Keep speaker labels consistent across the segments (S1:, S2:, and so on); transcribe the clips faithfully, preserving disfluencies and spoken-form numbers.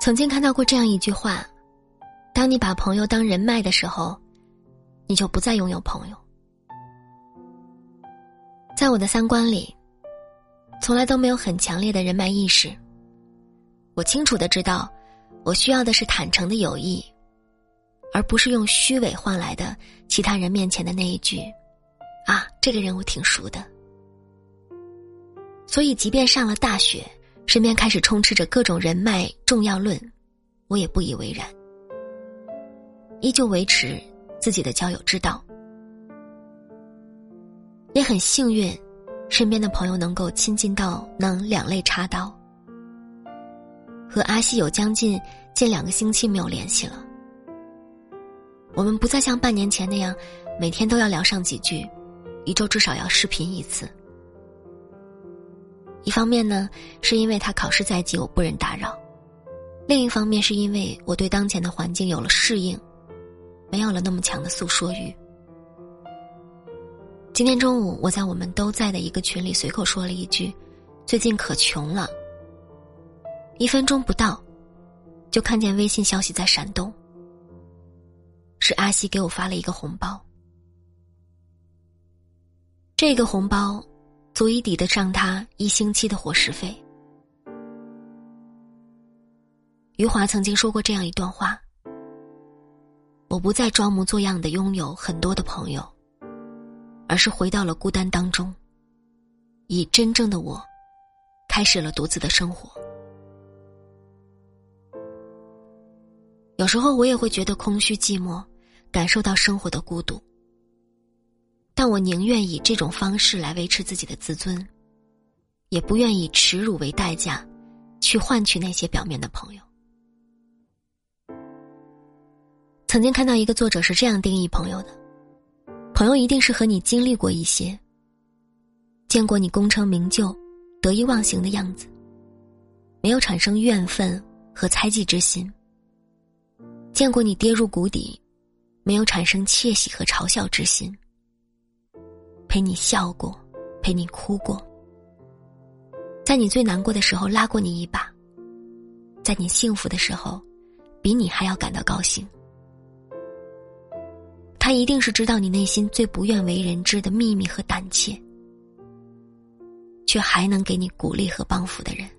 S1: 曾经看到过这样一句话，当你把朋友当人脉的时候，你就不再拥有朋友。在我的三观里，从来都没有很强烈的人脉意识。我清楚地知道，我需要的是坦诚的友谊，而不是用虚伪换来的其他人面前的那一句啊，这个人我挺熟的。所以即便上了大学，身边开始充斥着各种人脉重要论，我也不以为然，依旧维持自己的交友之道。也很幸运，身边的朋友能够亲近到能两肋插刀。和阿西有将近近两个星期没有联系了，我们不再像半年前那样每天都要聊上几句，一周至少要视频一次。一方面呢，是因为他考试在即，我不忍打扰；另一方面是因为我对当前的环境有了适应，没有了那么强的诉说欲。今天中午，我在我们都在的一个群里随口说了一句，最近可穷了。一分钟不到，就看见微信消息在闪动，是阿西给我发了一个红包。这个红包足以抵得上他一星期的伙食费。余华曾经说过这样一段话，我不再装模作样地拥有很多的朋友，而是回到了孤单当中，以真正的我开始了独自的生活。有时候我也会觉得空虚寂寞，感受到生活的孤独，但我宁愿以这种方式来维持自己的自尊，也不愿以耻辱为代价去换取那些表面的朋友。曾经看到一个作者是这样定义朋友的，朋友一定是和你经历过一些，见过你功成名就得意忘形的样子，没有产生怨愤和猜忌之心，见过你跌入谷底，没有产生窃喜和嘲笑之心，陪你笑过，陪你哭过，在你最难过的时候拉过你一把，在你幸福的时候比你还要感到高兴。他一定是知道你内心最不愿为人知的秘密和胆怯，却还能给你鼓励和帮扶的人。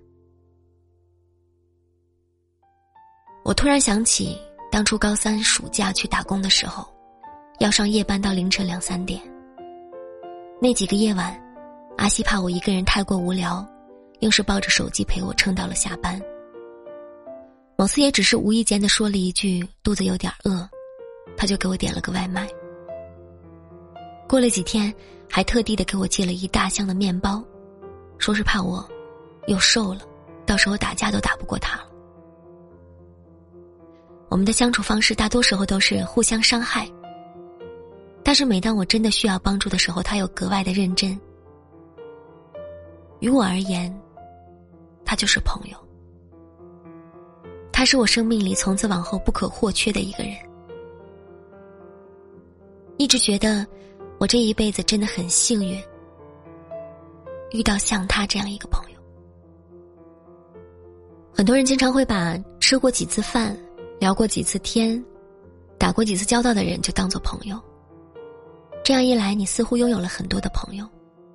S1: 我突然想起当初高三暑假去打工的时候，要上夜班到凌晨两三点。那几个夜晚，阿西怕我一个人太过无聊，硬是抱着手机陪我撑到了下班。某次也只是无意间地说了一句肚子有点饿，他就给我点了个外卖。过了几天，还特地的给我寄了一大箱的面包，说是怕我又瘦了，到时候打架都打不过他了。我们的相处方式大多时候都是互相伤害，但是每当我真的需要帮助的时候，他又格外的认真。于我而言，他就是朋友，他是我生命里从此往后不可或缺的一个人。一直觉得我这一辈子真的很幸运，遇到像他这样一个朋友。很多人经常会把吃过几次饭，聊过几次天，打过几次交道的人就当作朋友，这样一来，你似乎拥有了很多的朋友。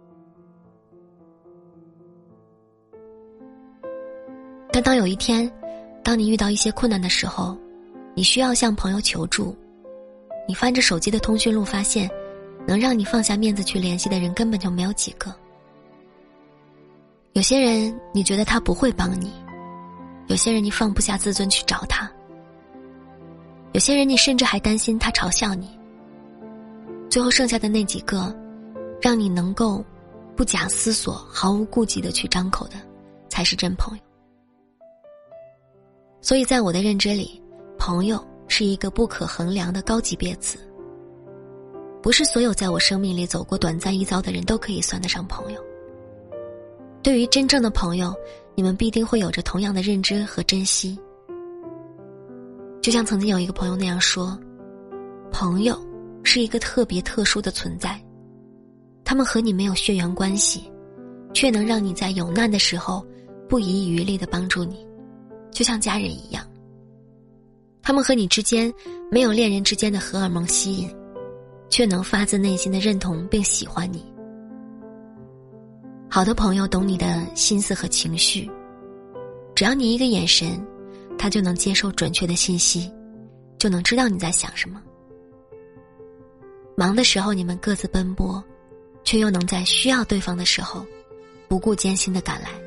S1: 但当有一天，当你遇到一些困难的时候，你需要向朋友求助，你翻着手机的通讯录，发现能让你放下面子去联系的人根本就没有几个。有些人你觉得他不会帮你，有些人你放不下自尊去找他，有些人你甚至还担心他嘲笑你，最后剩下的那几个，让你能够不假思索毫无顾忌地去张口的，才是真朋友。所以在我的认知里，朋友是一个不可衡量的高级别词，不是所有在我生命里走过短暂一遭的人都可以算得上朋友。对于真正的朋友，你们必定会有着同样的认知和珍惜。就像曾经有一个朋友那样说，朋友是一个特别特殊的存在，他们和你没有血缘关系，却能让你在有难的时候不遗余力地帮助你， 就像家人一样，他们和你之间没有恋人之间的荷尔蒙吸引，却能发自内心的认同并喜欢你。好的朋友懂你的心思和情绪，只要你一个眼神，他就能接受准确的信息，就能知道你在想什么。忙的时候你们各自奔波，却又能在需要对方的时候不顾艰辛地赶来。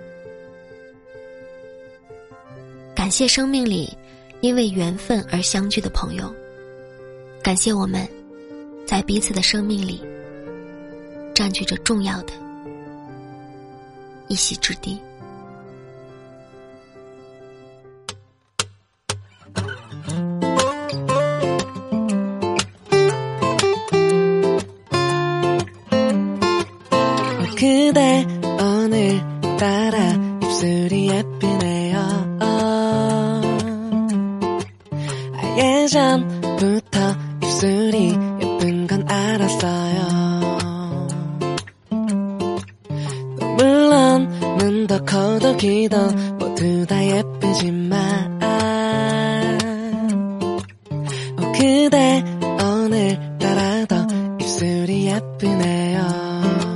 S1: 感谢生命里因为缘分而相聚的朋友，感谢我们在彼此的生命里占据着重要的一席之地。
S2: 그대 오늘따라 입술이 예쁘네요. 아예 전부터 입술이 예쁜 건 알았어요. 물론 눈도 코도 귀도 모두 다 예쁘지만 어, 그대 오늘따라도 입술이 예쁘네요.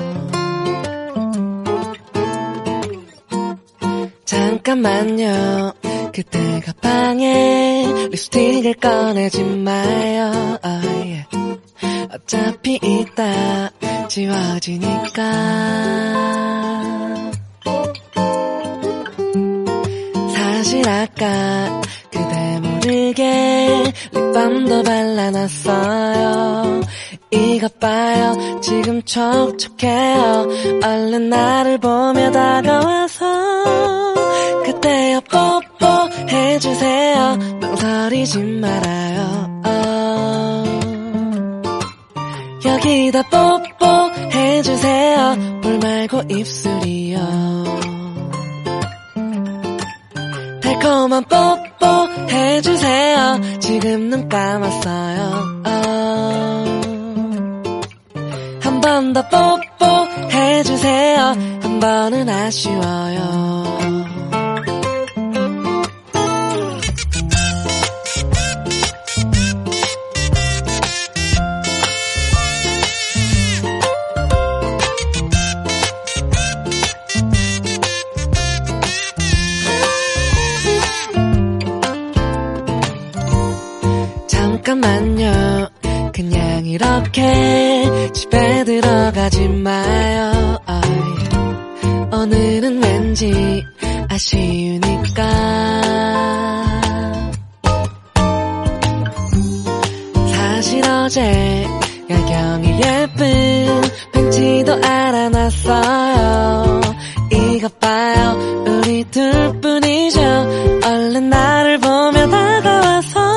S2: 잠깐만요, 그때가 방에 립스틱을 꺼내지 마요. oh, yeah. 어차피 이따 지워지니까. 사실 아까 그대 모르게 립밤도 발라놨어요. 이것 봐요, 지금 촉촉해요. 얼른 나를 보며 다가와서 그때요 뽀뽀 해주세요. 망설이지 말아요. oh. 여기다 뽀뽀 해주세요. 볼 말고 입술이요. 달콤한 뽀뽀 해주세요. 지금 눈 감았어요. oh. 한 번 더 뽀뽀 해주세요. 한 번은 아쉬워요. 잠깐만요, 그냥 이렇게 집에 들어가지 마요. oh, 오늘은 왠지 아쉬우니까. 사실 어제 야경이 예쁜 벤치도 알아놨어요. 이것 봐요, 우리 둘뿐이죠. 얼른 나를 보며 다가와서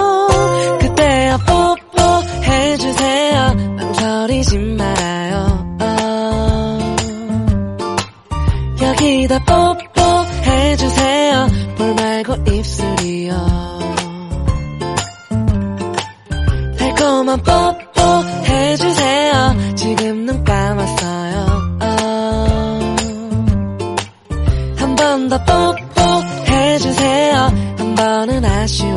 S2: 뽀뽀 해주세요. 망설이지 말아요. oh. 여기다 뽀뽀 해주세요. 볼 말고 입술이요. 달콤한 뽀뽀 해주세요. 지금 눈 감았어요. oh. 한 번 더 뽀뽀 해주세요. 한 번은 아쉬워.